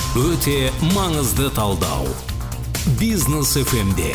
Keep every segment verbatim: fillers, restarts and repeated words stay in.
Өте маңызды талдау. Бизнес эф эмде.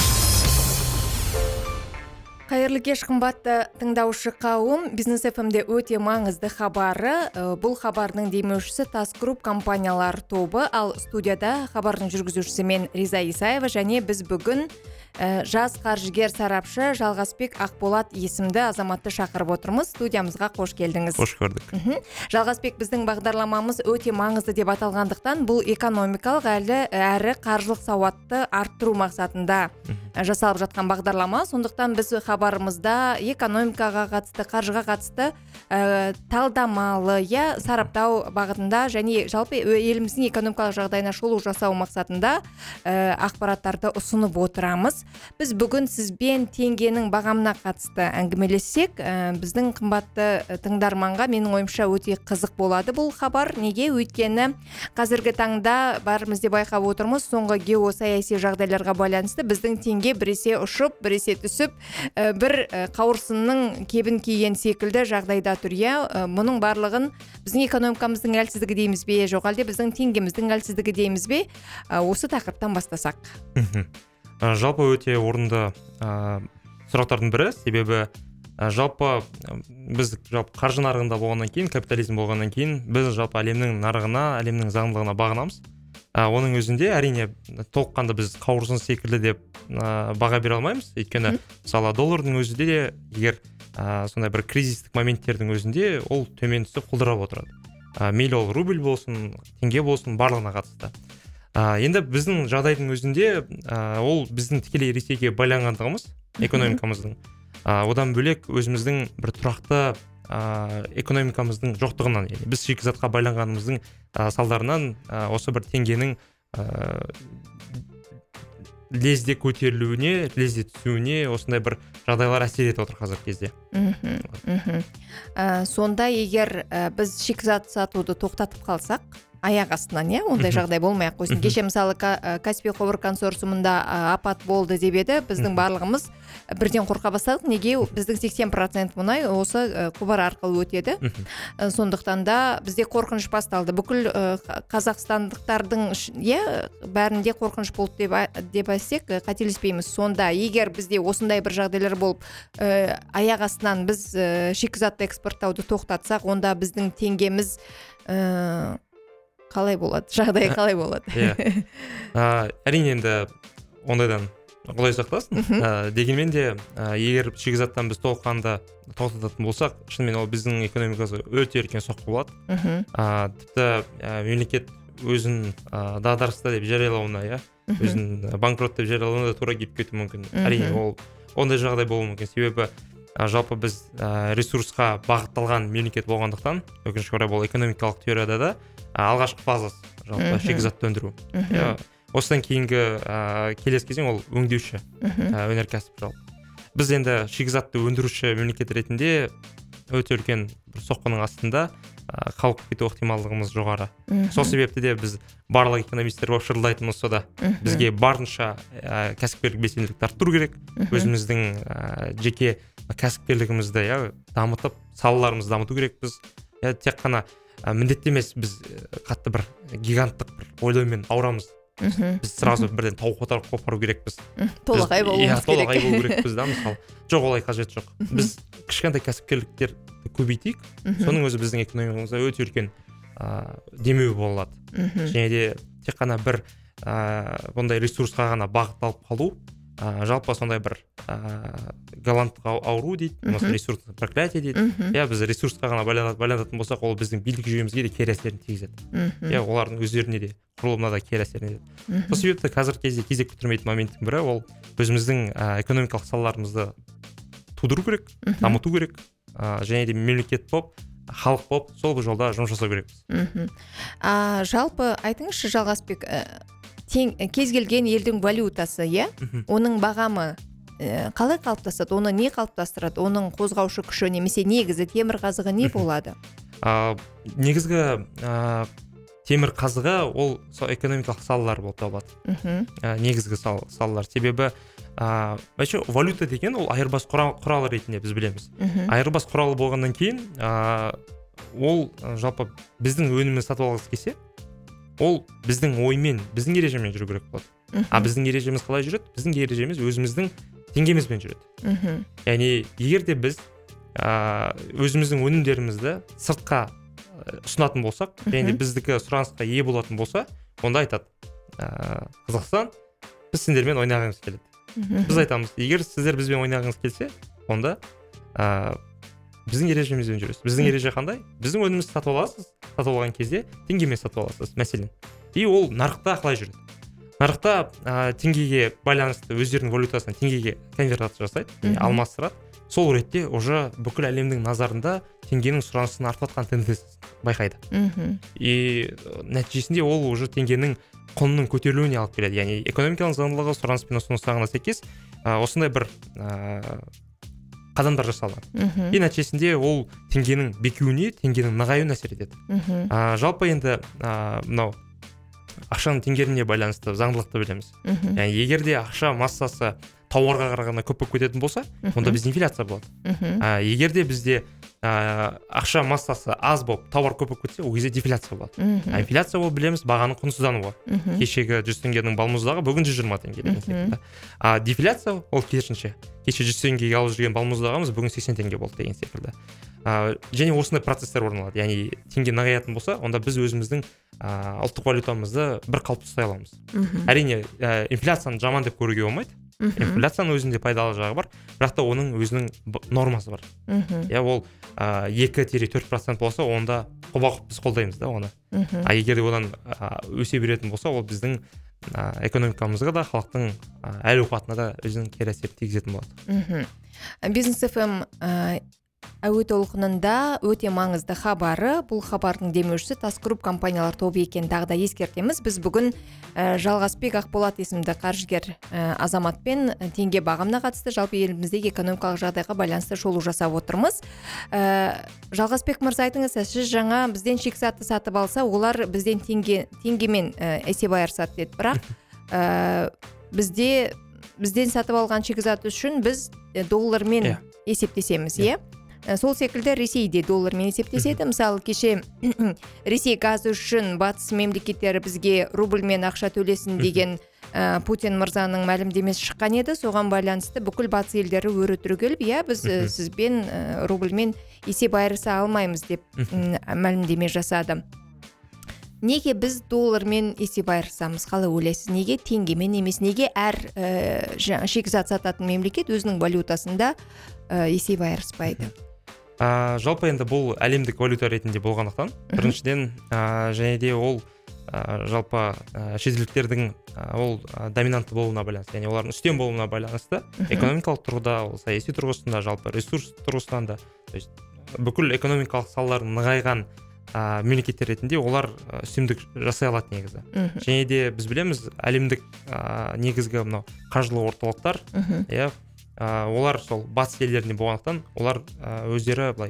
Қайырлы кеш, қымбатты тыңдаушы қауым. Бизнес эф эмде өте маңызды хабары. Бұл хабардың демеушісі Тас Груп компаниялар тобы, ал студияда хабардың жүргізушісі мен Риза Исаева, және біз бүгін жас қаржыгер сарапшы Жалғасбек Ақболат есімді азаматты шақырып отырмыз. Студиямызға қош келдіңіз. Қош көрдік. Жалғасбек, біздің бағдарламамыз өте маңызды деп аталғандықтан, бұл экономикалық әлі әрі қаржылық сауатты арттыру мақсатында жасалып жатқан бағдарлама. Сондықтан біз хабарымызда экономикаға қатысты, қаржыға қатысты ә, талдамалы, я сараптау бағытында және жалпы еліміздің экономикалық жағдайына шолу жасау мақсатында ә, ақпараттарды ұсынып отырамыз. Біз бүгін сізбен теңгенің бағамына қатысты әңгімелессек, ә, біздің қымбатты тыңдарманға менің ойымша өте қызық болады бұл хабар. Неге? Өйткені қазіргі таңда барымыз деп байқап отырмыз, соңғы геосаяси жағдайларға байланысты біздің теңге біресе ұшып, біресе түсіп, бір қауырсынның кебін киген секілді жағдайда тұр. Мұның барлығын біздің экономикамыздың әлсіздігі дейміз бе, жоқ әлде біздің теңгеміздің әлсіздігі дейміз бе? Осы тақырыптан бастасақ. Жалпы өте орынды сұрақтардың бірі, себебі жалпы біз жалпы қаржы нарығында болғаннан кейін, капитализм болғаннан кейін, біз жалпы әлемнің нарығына, әлемнің заңдылығына бағынамыз. Оның өзінде әрине толыққанды біз қауырсын секілді деп баға бере алмаймыз. Өйткені мысалы доллардың өзінде де егер сондай бір кризистік моменттердің өзінде ол төмен түсіп құлдырап отырады. Мейлі ол рубль болсын, теңге болсын, барлығына қатысты. Енді біздің жағдайдың өзінде ол біздің тікелей ресейге байланғандығымыз, экономикамыздың. Одан бөлек өзіміздің бір тұрақты экономикамыздың жоқтығынан, яғни біз шикізатқа байланғанымыздың салдарынан осы бір теңгенің лезде көтерілуіне, лезде түсуіне осындай бір жағдайлар әсер етіп отыр қазіргі кезде. Сонда егер біз шикізат сатуды тоқтатып қалсақ, аяқ астынан, не? Ондай жағдай болмай-ақ қойсын. Кеше мысалы Каспий құбыр консорциумында апат болды деп еді, біздің барлығымыз бірден қорқа бастадық. Неге? Біздің сексен процент мұнай осы құбыр арқылы өтеді. Сондықтан да бізде қорқыныш басталды. Бүкіл қазақстандықтардың бәрінде қорқыныш болды деп айтсек, қателеспейміз. Сонда егер бізде осындай бір жағдайлар болып, аяқ астынан біз шикізатты экспорттауды тоқтатсақ, онда біздің теңгеміз қалай болады? Жағдай қалай болады? Әрине енді ондайдан құдай сақтасын. Дегенмен де егер шикізаттан біз толыққанды тоқтататын болсақ, шынымен ол біздің экономикамызға өте үлкен соққы болады. Тіпті мемлекет өзін дағдарыста деп жариялауына, өзін банкрот деп жариялауына да тура келіп кетуі мүмкін. Әрине ол ондай жағдай болуы мүмкін. Себебі жалпы біз ресурсқа бағытталған мемлекет болғандықтан, өкінішке орай бұл экономикалық теорияда да алғашқы фазасы жалпы шикізатты өндіру. Осыдан кейінгі келесі кезең ол өңдеуші өнеркәсіп жалпы. Біз енді шикізатты өндіруші мемлекет ретінде өте үлкен соққының астында қалып кету ықтималдығымыз жоғары. Сол себепті де біз барлық экономистер болып шырылдайтынымыз сода. Бізге барынша кәсіпкерлік белсенділікті арттыру керек. Өзіміздің жеке кәсіпкерлігімізді дамытып, салаларымызды дамыту керек. Біз тек қана міндетті емес, біз қатты бір гиганттық бір ойлаумен ауырамыз. Біз сразу бірден тауық отарып қопару керекпіз. Толағай болуымыз керек. Толағай болу керекпіз да, мысалы. Жоқ, олай қажет жоқ. Біз кішкентай кәсіпкерліктерді көбейтейік. Соның өзі біздің экономикамызға өте үлкен демеу болады. Және де тек қана бір бұндай ресурсқа ғана бағытталып қалу, жалпы сондай бір голландтық ауру дейді, ресурстық проклятие дейді. Біз ресурсқа ғана байланатын болсақ, ол біздің билік жүйемізге де кері әсерін тигізеді. Олардың өздеріне де, құрылымына да кері әсерін етеді. Сол себепті қазіргі кезде кезек күттірмейтін моменттің бірі ол өзіміздің экономикалық салаларымызды тудыру керек, дамыту керек, және де мемлекет болып, халық болып, сол бір жолда жұмыс жасау керекпіз. Жалпы айтыңызшы, Жалғасбек, кез келген елдің валютасы, оның бағамы қалай қалыптасады, оны не қалыптастырады, оның қозғаушы күші немесе негізі темір қазығы не болады? Негізгі темір қазығы ол экономикалық салалар болып табылады. Негізгі салалар. Себебі валюта деген ол айырбас құралы ретінде біз білеміз. Айырбас құралы болғаннан кейін ол жалпы біздің өнімін сатып алғысы келсе, ол біздің оймен, біздің ережемен жүру керек болады. А біздің ережеміз қалай жүреді? Біздің ережеміз өзіміздің теңгемізбен жүреді. Яғни егер де біз өзіміздің өнімдерімізді сыртқа ұсынатын болсақ, және біздікі сұранысқа ие болатын болса, онда айтады, Қазақстан, біз сендермен ойнағымыз келеді. Біз айтамыз, егер сіздер бізбен ойнағыңыз келсе, онда біздің ережемізбен жүресіз. Біздің ереже қандай? Біздің өнімімізді сатып аласыз, сатып алған кезде теңгемен сатып аласыз, мәселен. И ол нарықта қалай жүреді? Нарықта теңгеге байланысты өздерінің валютасына теңгеге конвертация жасайды, алмастырады. Сол ретте уже бүкіл әлемнің назарында теңгенің сұранысын артып жатқан тенденциясын байқайды. И нәтижесінде ол уже теңгенің құнының көтерілуіне алып келеді. Яғни экономиканың заңдылығы сұраныс пен ұсыныс заңына сәйкес осындай бір қадамдар жасалады. И нәтижесінде ол теңгенің бекуіне, теңгенің нығаюына әсер етеді. Жалпы енді мынау ақшаның теңгеріміне байланысты заңдылықты білеміз. Яғни егер де ақша массасы тауарға қарағанда көп болып кететін болса, онда бізде инфляция болады. Егер де бізде ақша массасы аз болып, тауар көп болып кетсе, ол кезде дефляция болады. Инфляция ол білеміз, бағаның құнсыздануы. Кешегі жүз теңгенің балмұздағы бүгін жүз жиырма теңге деген секілді. А дефляция ол керісінше. Кеше жүз теңгеге алып жүрген балмұздағымыз бүгін сексен теңге болды деген секілді. Және осындай процесстер орын алады. Яғни теңге нығаятын болса, онда біз өзіміздің ұлттық валютамызды бір қалыпты ұстай аламыз. Әрине, инфляцияны жаман деп көруге болмайды. Инфляцияның өзінде пайдалы жағы бар, бірақ та оның өзінің нормасы бар. Я ол екі төрт процент болса, онда құба-құп біз қолдаймыз да оны. А егер де одан өсе беретін болса, ол біздің экономикамызға да, халықтың әл-ауқатына да өзінің кері әсерін тигізетін болады. Бизнес эф эм әуе толқынында өте маңызды хабары, бұл хабардың демеушісі Тасгрупп компаниялар тобы екенін тағы да ескертеміз. Біз бүгін Жалғасбек Ақболат есімді қаржыгер азаматпен теңге бағамына қатысты жалпы еліміздегі экономикалық жағдайға байланысты шолу жасап отырмыз. Жалғасбек мырза, айтыңыз, сіз жаңа бізден шикізатты сатып алса, олар бізден теңге теңгемен есеп айырысады деді. Бірақ бізде бізден сатып алған шикізат үшін біз доллармен есептесеміз, иә? Сол секілді Ресей де доллармен есептеседі. Мысалы, кеше Ресей газы үшін батыс мемлекеттері бізге рубльмен ақша төлесін деген Путин мырзаның мәлімдемесі шыққан еді. Соған байланысты бүкіл батыс елдері өрі түрегеліп, иә, біз сізбен рубльмен есеп айырыса алмаймыз деп мәлімдеме жасады. Неге біз доллармен есеп айырысамыз? Қалай ойлайсыз? Неге теңгемен емес? Неге әр шикізат сататын мемлекет өзінің валютасында есеп айырыспайды? Жалпы енді бұл әлемдік валюта ретінде болғандықтан, біріншіден және де ол жалпы шетелдіктердің ол доминантты болуына байланысты, яғни олардың үстем болуына байланысты, экономикалық тұрғыда, саяси тұрғысында, жалпы ресурс тұрғысынан да, бүкіл экономикалық салалардың нығайған мемлекеттер ретінде олар үстемдік жасай алады негізі. Және де біз білеміз, әлемдік негізгі мынау қаржылық орталықтар, иә, олар сол батыс елдерінде болғандықтан, олар өздері былай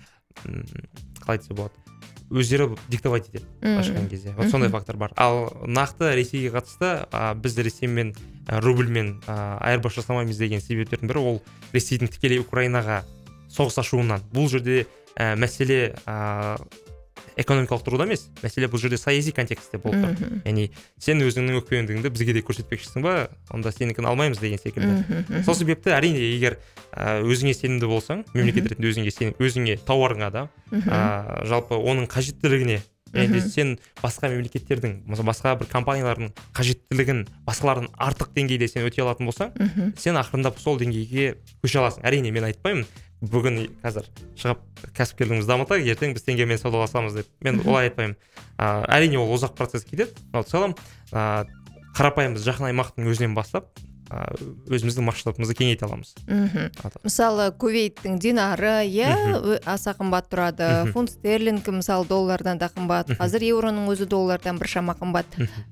қалай десе болады, өздері диктовать етеді ашқан кезде. Вот сондай фактор бар. Ал нақты Ресейге қатысты біз Ресеймен рубльмен айырбас жасамаймыз деген себептердің бірі ол Ресейдің тікелей Украинаға соғыс ашуынан. Бұл жерде мәселе экономикалық тұрғыда емес, мәселе бұл жерде саяси контекстте болып тұр. Яғни сен өзіңнің өкпелегендігіңді бізге де көрсетпекшісің ба, онда сенікін алмаймыз деген секілді. Сол себепті әрине егер өзіңе сенімді болсаң, мемлекет ретінде өзіңе сенім, өзіңе тауарыңа да, жалпы оның қажеттілігіне, және сен басқа мемлекеттердің, басқа бір компаниялардың қажеттілігін басқалардың артық деңгейде сен өтей алатын болсаң, сен ақырындап сол деңгейге көше аласың. Әрине мен айтпаймын, бүгін қазір шығып кәсіпкерлігімізді дамытайық, ертең біз теңгемен саудаласамыз деп. Мен олай айтпаймын. Әрине ол ұзақ процесс кетеді. В целом қарапайым біз жақын аймақтың өзінен бастап өзіміздің масштабымызды кеңейте аламыз. Мысалы, Кувейттің динары, иә, аса қымбат тұрады. Фунт стерлинг мысалы доллардан да қымбат. Қазір еуроның өзі доллардан біршама қымбат.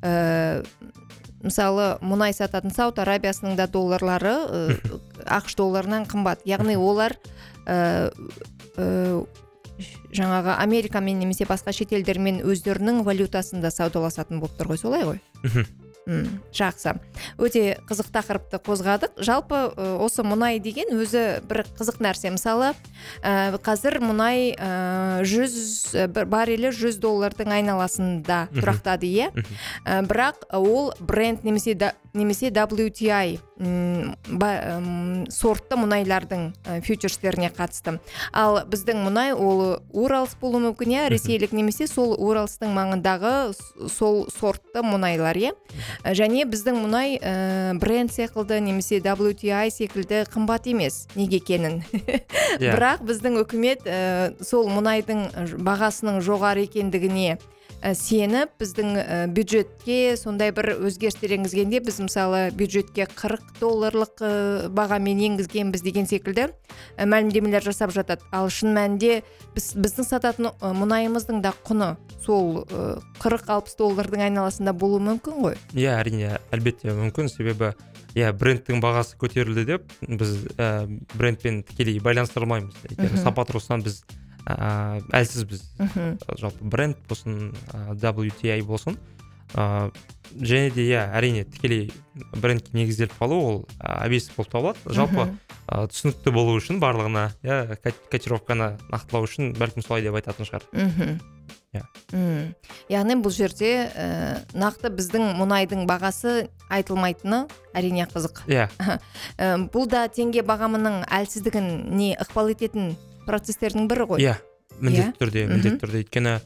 Мысалы, мұнай сататын Сауд Арабиясының да долларлары ақш долларынан қымбат. Яғни олар жаңағы Америкамен немесе басқа шетелдермен өздерінің валютасында саудаласатын болып тұр ғой, солай ғой? М, жақсы. Өте қызық тақырыпты қозғадық. Жалпы ә, осы мұнай деген өзі бір қызық нәрсе. Мысалы, ә, қазір мұнай ә, жүз бір баррелі жүз доллардың айналасында тұрақтады, иә. Ә, бірақ ол бренд немесе да, немесе дабл ю ти ай м, ба, м, сортты мұнайлардың ә, фьючерстеріне қатысты. Ал біздің мұнай ол Уралс болуы мүмкін, иә, ресейлік немесе сол Уралстың маңындағы с- сол сортты мұнайлар, иә. Және біздің мұнай ә, бренд секілді немесе дабл ю ти ай секілді қымбат емес. Неге екенін. Иә. Бірақ біздің үкімет ә, сол мұнайдың бағасының жоғары екендігіне ә, сеніп, біздің ә, бюджетке сондай бір өзгерістер енгізгенде, біз мысалы бюджетке қырық долларлық ә, бағамен енгізгенбіз деген секілді ә, мәлімдемелер жасап жатады. Ал шын мәнінде біз, біздің сататын ә, мұнайымыздың да құны сол ә, қырық алпыс доллардың айналасында болуы мүмкін ғой. Иә, әрине, әлбетте мүмкін, себебі иә, брендтің бағасы көтерілді деп біз ә, брендпен тікелей байланыстырмаймыз. Егер сапа тұрғысынан біз ә, әлсізбіз. Мгм. Жалпы бренд болсын, ә, дабл ю ти ай болсын. Ә, және де иә, әрине тікелей брендке негізделіп қалу ол ә, әбестік болып табылады. Жалпы Мгм. ә, түсінікті болу үшін барлығына, иә, ко- котировканы нақтылау үшін бәлкім солай деп айтатын шығар. Мгм. Иә. М. Яғни бұл жерде ә, нақты біздің мұнайдың бағасы айтылмайтыны әрине қызық. Иә, Ә, бұл да теңге бағамының әлсіздігін не ықпал ететін процестердің бірі ғой. иә, міндетті Иә. түрде, Мгм. міндетті түрде. Өйткені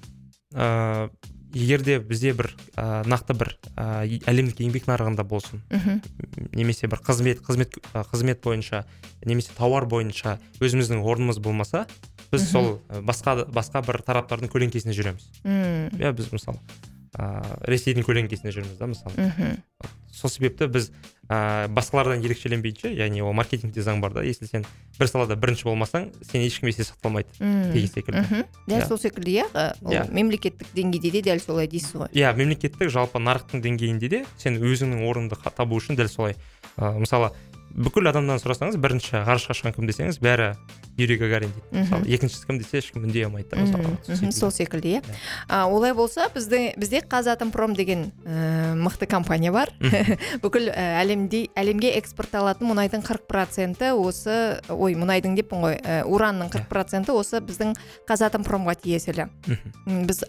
ә, егер де бізде бір ә, нақты бір ә, әлемдік еңбек нарығында болсын, Мгм. немесе бір қызмет қызмет ә, қызмет бойынша, немесе тауар бойынша өзіміздің орнымыз болмаса, біз Мгм. сол ә, басқа басқа бір тараптардың көлеңкесіне жүреміз. М. Иә, біз мысалы ә, Ресейдің көлеңкесіне жүрміз да, мысалы. Мгм. Сол себепті біз ә, басқалардан ерекшеленбейінше, яғни ол маркетингте заң бар да, если сен бір салада бірінші болмасаң, сен ешкім есте сақталмайды М. деген секілді. Мгм. Дәл Иә. сол секілді, иә. Ә, ол Иә. мемлекеттік деңгейде де дәл солай дейсіз ғой. Иә, мемлекеттік жалпы нарықтың деңгейінде де сен өзіңнің орныңды қа- табу үшін дәл солай. Ә, мысалы, бүкіл адамнан сұрасаңыз, бірінші ғарышқа шыққан кім десеңіз, бәрі Юрий Гагарин дейді. Мгм. Мысалы, екіншісі кім десе, ешкім үндей алмайды. да, Мгм. мысалы. Мгм. Сол секілді, иә. Иә. А, олай болса, бізде бізде Қазатомпром деген ә, мықты компания бар. Бүкіл ә, әлемде әлемге экспортталатын мұнайдың қырық проценті осы, ой, мұнайдың деппін ғой, ә, уранның қырық проценті осы біздің Қазатомпромға тиесілі. Мгм. М, Біз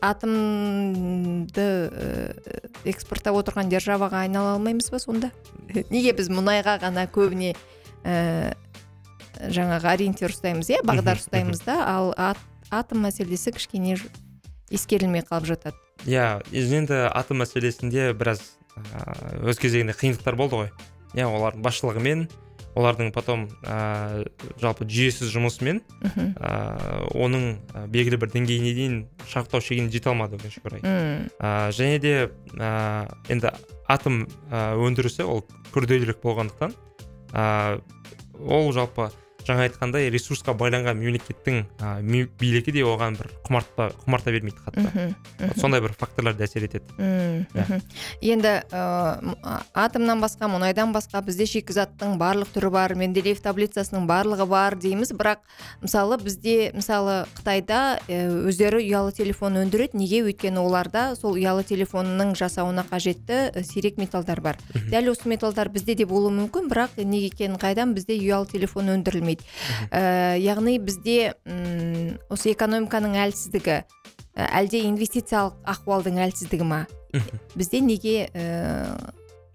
атомды ә, экспорттап отырған державаға айнала алмаймыз ба сонда? Неге біз мұнайға ғана көбіне ә, жаңағы ориентир ұстаймыз, иә, бағдар Мгм, ұстаймыз да, ал ат- атом мәселесі кішкене ж- ескерілмей қалып жатады. Иә, енді атом мәселесінде біраз ә, өз кезегінде қиындықтар болды ғой. Иә, олардың басшылығымен, олардың потом ә, жалпы жүйесіз жұмысымен Мгм. ә, оның ә, белгілі бір деңгейіне дейін шарықтау шегіне жете алмады өкінішке орай. М. Ә, және де ә, енді атом ә, өндірісі ол күрделірек болғандықтан ә, ол жалпы жаңа айтқандай ресурсқа байланған мемлекеттің ә, ме- билігі де оған бір құмарта құмарта бермейді қатты. Мгм. Вот сондай бір факторлар да әсер етеді. М, Иә. мгм. Енді ә, м- а- атомнан басқа, мұнайдан басқа бізде шикізаттың барлық түрі бар, Менделеев таблицасының барлығы бар дейміз, бірақ мысалы бізде, мысалы Қытайда ә, өздері ұялы телефон өндіреді. Неге? Өйткені оларда сол ұялы телефонның жасауына қажетті ә, сирек металдар бар. Мгм. Дәл осы металдар бізде де болуы мүмкін, бірақ неге екенін қайдан, бізде ұялы телефон өндірілмейді. Ә, яғни бізде м, осы экономиканың әлсіздігі, ә, әлде инвестициялық ахуалдың әлсіздігі ма? Мгм. Бізде неге ә,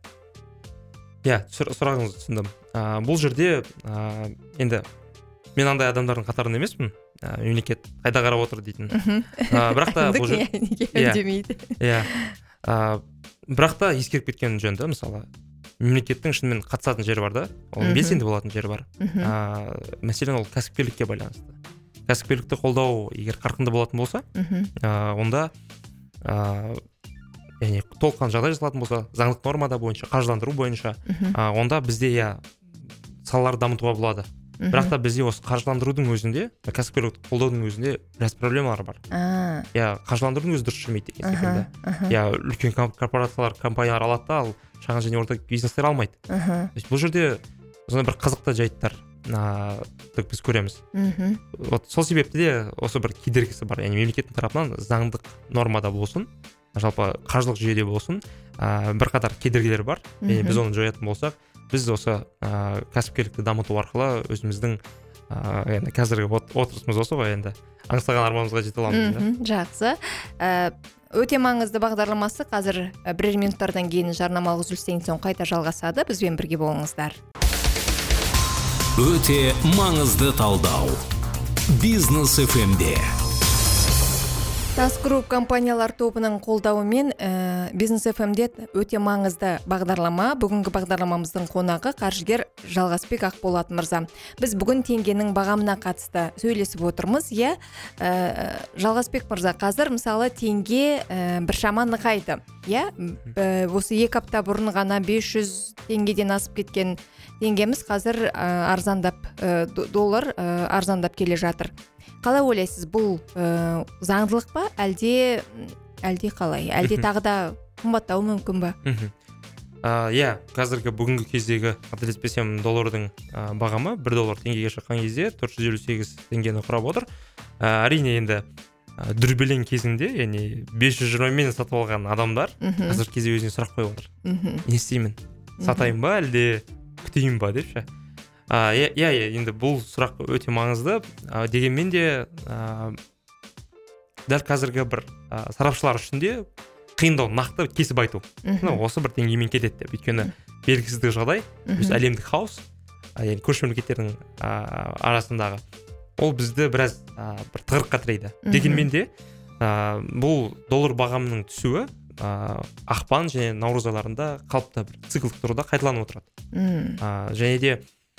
Иә, сұр- сұрағыңызды түсіндім. Ә, бұл жерде ә, енді мен андай адамдардың қатарында емеспін. Ә, мемлекет қайда қарап отыр дейтін. Ә, бірақ та бұл жер- кімдік неге Иә. үндемейді? Иә. Ә, бірақ та ескеріп кеткен жөн да, мысалы мемлекеттің шынымен қатысатын жері бар да, ол Мгм. белсенді болатын жері бар. Мгм. Ә, мәселен ол кәсіпкерлікке байланысты. Кәсіпкерлікті қолдау егер қарқынды болатын болса, Мгм. ә, онда ә, яғни толыққан жағдай жасалатын болса, заңдық нормада бойынша, қаржыландыру бойынша, Мгм. ә, онда бізде иә салаларды дамытуға болады. Мгм. Бірақ та бізде осы қаржыландырудың өзінде, кәсіпкерлікті қолдаудың өзінде біраз проблемалар бар. А, Иә, қаржыландырудың өзі дұрыс жүрмейді деген аха, секілді. аха, Иә, үлкен ком- корпорациялар, компаниялар алады да, ал шағын және орта бизнестер алмайды. аха, То есть бұл жерде сондай бір қызықты жайттар ә, біз көреміз. мгм. Вот сол себепті де осы бір кедергісі бар. Яғни мемлекеттің тарапынан заңдық нормада болсын, жалпы қаржылық жүйеде болсын ә, бірқатар кедергілер бар. Және біз оны жоятын болсақ, біз осы ә, кәсіпкерлікті дамыту арқылы өзіміздің ә, енді қазіргі отырысымыз осы ғой, енді аңсаған арманымызға жете аламыз. Жақсы. Өте маңызды бағдарламасы қазір бірер минуттардан кейін жарнамалық үзілістен соң қайта жалғасады. Бізбен бірге болыңыздар. Өте маңызды талдау. Бизнес эф эм-де. Тас Групп компаниялар тобының қолдауымен ә, Бизнес эф эм-де өте маңызды бағдарлама. Бүгінгі бағдарламамыздың қонағы қаржыгер Жалғасбек Ақболат мырза. Біз бүгін теңгенің бағамына қатысты сөйлесіп отырмыз. Иә, ә, Жалғасбек мырза, қазір мысалы теңге ә, біршама нығайды. Иә, ә, осы екі апта бұрын ғана бес жүз теңгеден асып кеткен теңгеміз қазір ә, арзандап ә, доллар ә, арзандап келе жатыр. Қалай ойлайсыз, бұл ә, заңдылық па, әлде әлде қалай? Әлде тағы да қымбаттауы мүмкін ба? Иә, қазіргі бүгінгі кездегі қателеспесем доллардың ә, бағамы бір доллар теңгеге шыққан кезде төрт жүз елу сегіз теңгені құрап отыр. Ә, әрине енді ә, дүрбелең кезінде, яғни бес жүз жиырмамен сатып алған адамдар қазіргі кезде өзіне сұрақ қойып отыр. Не істеймін? Сатайын ба, әлде күтейін ба деп ше. Иә, иә, енді бұл сұрақ өте маңызды. А, дегенмен де а, дәл қазіргі бір а, сарапшылар үшін де қиындау нақты кесіп айту. Осы бір теңгемен кетеді деп. Өйткені белгісіздік жағдай, біз әлемдік хаос, яғни көрші мемлекеттердің арасындағы, ол бізді біраз а, бір тығырыққа тірейді. Дегенмен де а, бұл доллар бағамының түсуі а, ақпан және наурыз айларында қалыпты бір циклдік тұрғыда қайталанып отырады. А, және де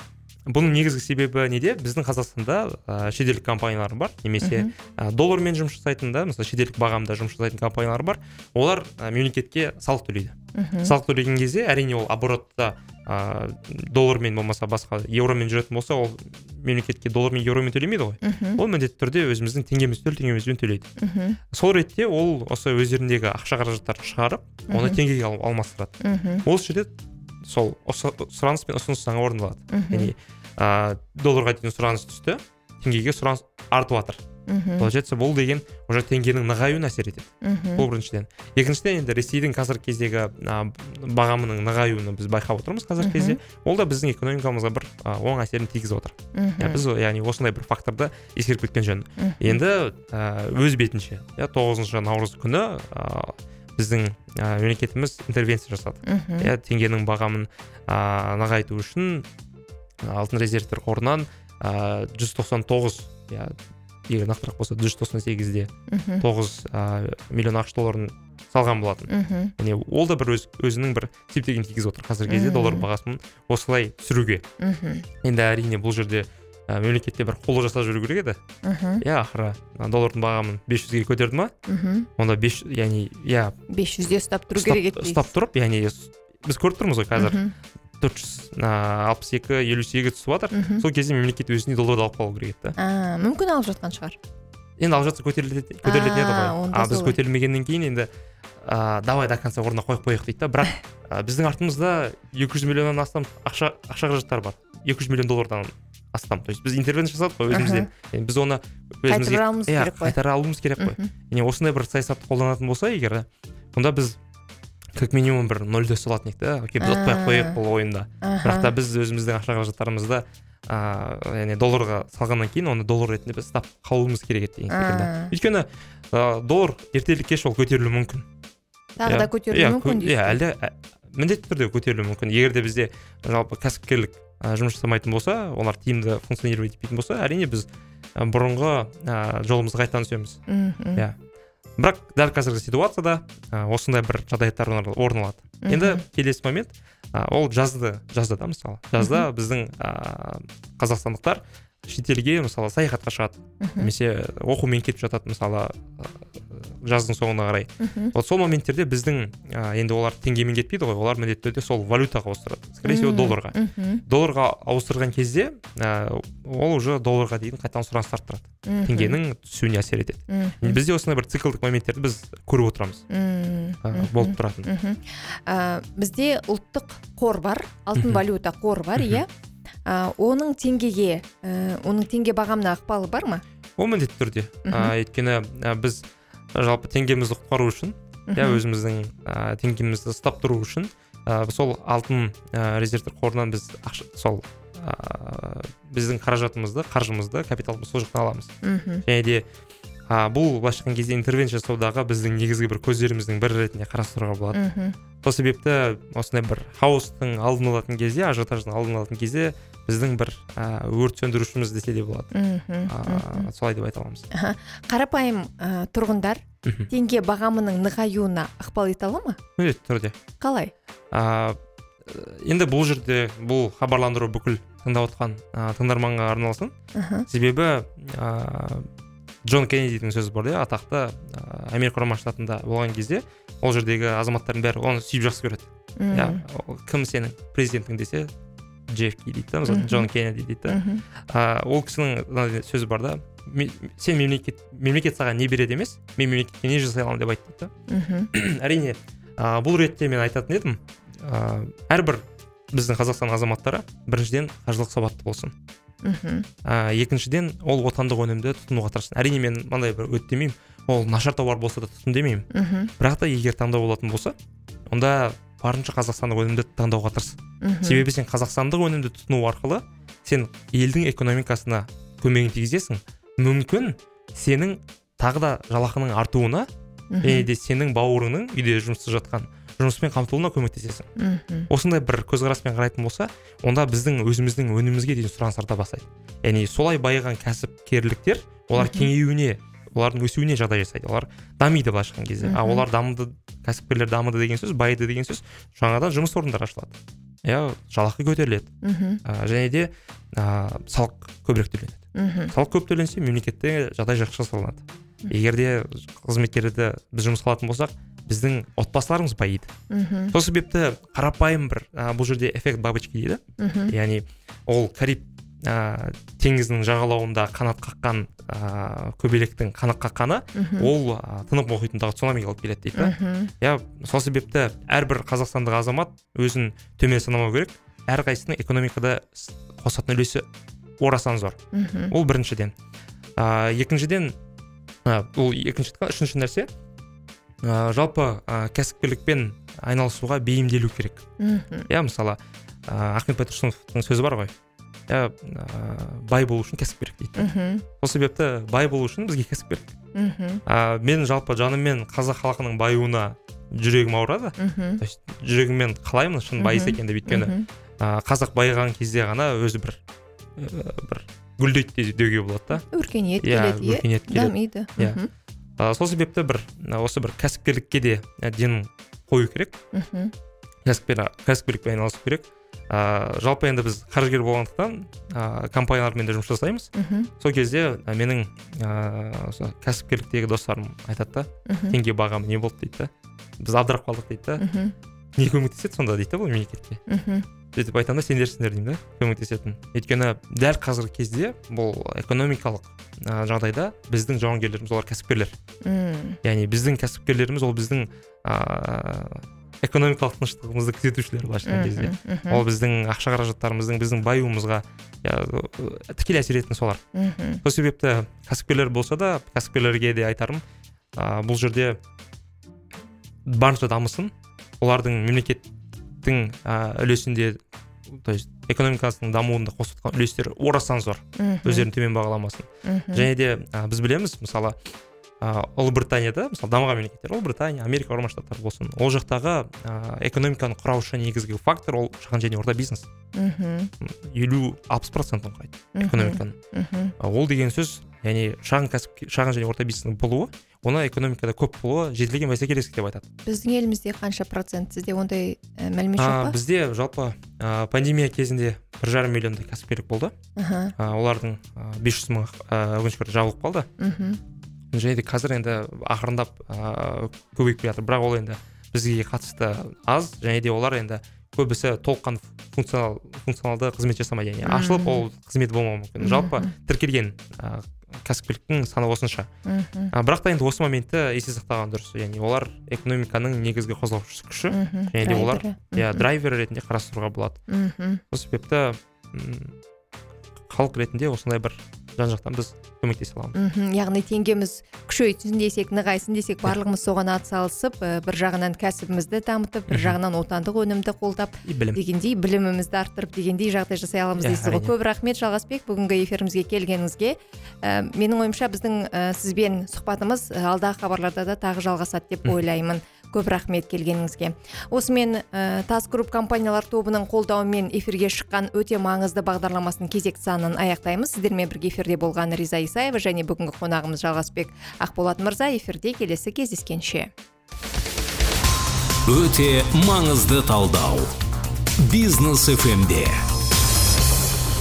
бұның негізгі себебі неде? Біздің Қазақстанда ә, шетелдік компаниялар бар, немесе ә, доллармен жұмыс жасайтын да, мысалы шетелдік бағамда жұмыс жасайтын компаниялар бар. Олар ә, мемлекетке салық төлейді. Салық төлеген кезде, әрине ол оборотта ә, доллармен болмаса басқа евромен жүретін болса, ол мемлекетке доллармен евромен төлемейді ғой. Ол міндетті түрде өзіміздің теңгеміз төл теңгемізбен төлейді. Сол ретте ол осы өздеріндегі ақша қаражаттарын шығарып, оны теңгеге ал, алмастырады. Ол жерде сол сұраныс пен ұсыныс заңы орындалады. Яғни ә, долларға дейін сұраныс түсті, теңгеге сұраныс артып жатыр. Получается, бұл деген уже теңгенің нығаюына әсер етеді. Бұл біріншіден. Екіншіден, енді Ресейдің қазіргі кездегі ә, бағамының нығаюын біз байқап отырмыз қазіргі кезде. Ол да біздің экономикамызға бір ә, оң әсерін тигізіп отыр. Я, біз яғни осындай бір факторды ескеріп кеткен жөн. Енді ә, өз бетінше, я, тоғызыншы наурыз күні ә, біздің ә, мемлекетіміз интервенция жасады. Я, теңгенің бағамын ә, нығайту үшін алтын резервтер қорынан ә, жүз тоқсан тоғыз, я, егер нақтырақ болса жүз тоқсан сегізде тоғыз ә, миллион ақш долларын салған болатын. Яғни ол да бір өз, өзінің бір септігін тигізіп отыр қазіргі кезде доллар бағасын осылай түсіруге. Енді әрине бұл жерде ә, мемлекетте бір қолы жасап жүру керек еді. Иә, ақыры доллардың бағамын бес жүзге көтерді ма? Онда бес жүз, яғни, иә, бес жүзде ұстап тұру керек еді. Ұстап тұрып, яғни біз көріп тұрмыз ғой қазір төрт жүз алпыс екі елу сегізге түсіп жатыр. Сол кезде мемлекет өзіне долларды алып қалу керек еді. А, мүмкін алып жатқан шығар. Енді алып жатса көтерілетін еді ғой. А біз көтерілмегеннен кейін енді а, давай до конца орнына қойып қояйық дейді да. Бірақ а, біздің артымызда екі жүз миллионнан астам ақша ақша қаражаттар бар. екі жүз миллион доллардан астам. То есть біз интервенция жасадық қой өзімізден. Yani біз оны қайтара алуымыз керек қой. Қайтара алуымыз керек қой. Yani осындай бір саясатты қолданатын болса егер, онда біз как минимум бір нөлде салатын едік та. Окей, біз ұтпай қояйық бұл ойында. Бірақ та біз өзіміздің ақша қаражаттарымызды а, яғни долларға салғаннан кейін оны доллар ретінде біз ұстап қалуымыз керек еді деген секілді. Өйткені а, доллар ертелі кеш ол көтерілуі мүмкін. Тағы да көтерілуі мүмкін дейсіз. Иә, әлде міндетті түрде көтерілуі мүмкін. Егер де бізде жалпы кәсіпкерлік жұмыс жасамайтын болса, олар тиімді функционировать етпейтін болса, әрине біз бұрынғы жолымызға қайтадан түсеміз. Иә. Бірақ дәл қазіргі ситуацияда осындай бір жағдаяттар орын алады. Енді келесі момент, ол жазды, жазды да мысалы. Жазда біздің қазақстандықтар шетелге мысалы саяхатқа шығады. Немесе оқумен кетіп жатады мысалы жаздың соңына қарай. Вот сол моменттерде біздің енді олар теңгемен кетпейді ғой, олар міндетті түрде сол валютаға ауыстырады. Скорее всего долларға. Долларға ауыстырған кезде ол уже долларға дейін қайтадан сұраныс арттырады. Теңгенің түсуіне әсер етеді. Бізде осындай бір циклдік моменттерді біз көріп отырамыз. Болып тұратын. Бізде ұлттық қор бар, алтын валюта қор бар, иә. Оның теңгеге, оның теңге бағамына ықпалы бар ма? Ол міндетті түрде. Өйткені біз жалпы теңгемізді құтқару үшін иә өзіміздің ә, теңгемізді ұстап тұру үшін ә, сол алтын ә, резервтер қорынан біз ақша, сол ә, біздің қаражатымызды, қаржымызды, капиталымызды сол жақтан аламыз. Мхм. және де ә, бұл былайша айтқан кезде интервенция жасаудағы біздің негізгі бір көздеріміздің бірі ретінде қарастыруға болады. Мхм. сол себепті осындай бір хаостың алдын алатын кезде, ажиотаждың алдын алатын кезде біздің бір ә, өрт сөндірушіміз десе де болады. Мхм. ә, солай деп айта аламыз. Аха. Қарапайым ә, тұрғындар Мхм. теңге бағамының нығаюына ықпал ете ала ма? міндетті түрде. Қалай? ә, енді бұл жерде бұл хабарландыру бүкіл тыңдап отқан ә, тыңдарманға арналсын. Аха. Себебі ә, Джон Кеннедидің сөзі бар, иә, атақты ә, Америка құрама штатында болған кезде ол жердегі азаматтардың бәрі оны сүйіп жақсы көреді. Иә, ол кім сенің президентің десе, Джефф Ки дейді да, мысалы, Мгм. Джон Кеннеди дейді да. Мгм. Ә, ол кісінің мынандай сөзі бар да, «Ме- сен мемлекет мемлекет саған не береді емес, мен мемлекетке не жасай аламын деп айтты да. Мхм. Әрине ә, бұл ретте мен айтатын едім, ә, әрбір біздің Қазақстан азаматтары біріншіден қаржылық сауатты болсын. Мхм. ә, екіншіден ол отандық өнімді тұтынуға тырыссын. Әрине мен мынандай бір өт демеймін, ол нашар тауар болса да тұтын демеймін. Мхм. Бірақ та егер таңдау болатын болса, онда барынша қазақстандық өнімді таңдауға тырыс. Мхм. Себебі сен қазақстандық өнімді тұтыну арқылы сен елдің экономикасына көмегін тигізесің. Мүмкін сенің тағы да жалақының артуына Мхм. және де сенің бауырыңның үйде жұмыссыз жатқан жұмыспен қамтылуына көмектесесің. Мхм. Осындай бір көзқараспен қарайтын болса, онда біздің өзіміздің өнімімізге дейін сұраныс арта бастайды. Яғни солай байыған кәсіпкерліктер, олар Мхм. кеңеюіне, олардың өсуіне жағдай жасайды. Олар дамиды былайша айтқан кезде. А Мхм. олар дамыды, кәсіпкерлер дамыды деген сөз, байыды деген сөз, жаңадан жұмыс орындары ашылады. Иә, жалақы көтеріледі. Мхм. А, және де а, салық көбірек төленеді. Мхм. Салық көп төленсе, мемлекетте жағдай жақсы жасалынады. Егер де қызметкерді біз жұмысқа алатын болсақ, біздің отбасыларымыз байиды. Мхм. Сол себепті қарапайым бір а, бұл жерде эффект бабочки дейді. Мхм. Яғни ол Кариб ә, теңізінің жағалауында қанат қаққан ә, көбелектің қанат қаққаны, Мхм. ол ә, тынық мұхитындағы цунамиге алып келеді дейді. Мхм. Иә, сол себепті әрбір қазақстандық азамат өзін төмен санамау керек. Әрқайсының экономикада с- қосатын үлесі орасан зор. Мхм. Ол біріншіден. ә, екіншіден ә, ол екінші үшінші нәрсе, ә, жалпы ә, кәсіпкерлікпен айналысуға бейімделу керек. Мхм. Иә, мысалы ә, Ахмет Байтұрсыновтың сөзі бар ғой. Иә, ә, бай болу үшін кәсіп керек дейді. Мхм. Сол себепті бай болу үшін бізге кәсіп керек. Мхм. ә, мен жалпы жаныммен қазақ халқының баюына жүрегім ауырады. Мхм. То есть жүрегіммен қалаймын шын байыс екен деп, өйткені Мхм. ә, қазақ байыған кезде ғана өзі бір ә, бір гүлдейді де- деуге болады да. Өркениет Иә, келеді, өркениет иә, келеді. дамиды. Иә. Мхм. Ә, сол себепті бір ә, осы бір кәсіпкерлікке де ә, ден қою керек. Мхм. Кәсіпкер кәсіпкерлікпен айналысу керек. ә, жалпы енді біз қаржыгер болғандықтан ә, компаниялармен де жұмыс жасаймыз. Мхм. Сол кезде ә, менің ә, осы кәсіпкерліктегі достарым айтады да, Мхм. теңге бағамы не болды дейді да, біз абдырап қалдық дейді да, Мхм. не көмектеседі сонда дейді да бұл мемлекетке. Мхм. Сөйтіп айтамын да, сендерсіңдер деймін да, көмектесетін. Өйткені дәл қазіргі кезде бұл экономикалық ә, жағдайда біздің жауынгерлеріміз олар кәсіпкерлер. Мм. Яғни біздің кәсіпкерлеріміз ол біздің ә, экономикалық тыныштығымызды күзетушілер былайша айтқан кезде. Мхм. Ол біздің ақша қаражаттарымыздың, біздің баюымызға ә, тікелей әсер ететін солар. Мхм. Сол себепті кәсіпкерлер болса да, кәсіпкерлерге де айтарым, ә, бұл жерде барынша дамысын. Олардың мемлекеттің ә, үлесінде, то есть экономикасының дамуында қосып үлестері орасан зор. Мхм. Өздерін төмен бағаламасын. Мхм. Және де ә, біз білеміз, мысалы, ә, Ұлыбританияда, мысалы, дамыған мемлекеттер, Ұлыбритания, Америка құрама штаттары болсын, ол жақтағы ә, экономиканы құраушы негізгі фактор ол шағын және орта бизнес. Мхм. елу алпыс процентін құрайды Мхм. экономиканың. Мхм. А, ол деген сөз, яғни шағын кәсіп, шағын және орта бизнестің болуы, оны экономикада көп болуы жетілген бәсекелестік деп айтады. Біздің елімізде қанша процент? Сізде ондай ә, мәлімет А, жоқ па? бізде жалпы ә, пандемия кезінде бір жарым миллиондай кәсіпкерлік болды. Аха. А, олардың ә, бес жүз мың ә, өкінішке орай жабылып қалды. Мхм. Және де қазір енді ақырындап ә, көбейіп келе жатыр. Бірақ ол енді бізге қатысты аз, және де олар енді көбісі толыққан функционал функционалды қызмет жасамайды. Яғни ашылып ол қызмет болмауы мүмкін. Жалпы тіркелген ә, кәсіпкерліктің саны осынша. Мхм. А, бірақ та енді осы моментті есте сақтаған дұрыс. Яғни олар экономиканың негізгі қозғаушы күші, Мхм. және де олар Драйвері. иә Мхм. драйвер ретінде қарастыруға болады. Мхм. Сол себепті м, халық ретінде осындай бір жан жақтан біз көмектесе аламыз. Мхм, яғни теңгеміз күшейтсін десек, нығайсын десек, барлығымыз соған атсалысып, ә, бір жағынан кәсібімізді дамытып, бір жағынан отандық өнімді қолдап, дегендей білімімізді арттырып дегендей жағдай жасай аламыз дейсіз ғой. Көп рахмет Жалғасбек, бүгінгі эфирімізге келгеніңізге. Ә, менің ойымша біздің ә, сізбен сұхбатымыз алдағы хабарларда да тағы жалғасады деп ойлаймын. Көп рахмет келгеніңізге. Осымен ә, Тас Групп компаниялар тобының қолдауымен эфирге шыққан өте маңызды бағдарламасының кезекті санын аяқтаймыз. Сіздермен бірге эфирде болған Риза Исаева және бүгінгі қонағымыз Жалғасбек Ақболат мырза. Эфирде келесі кездескенше. Өте маңызды талдау. Бизнес эф эмде.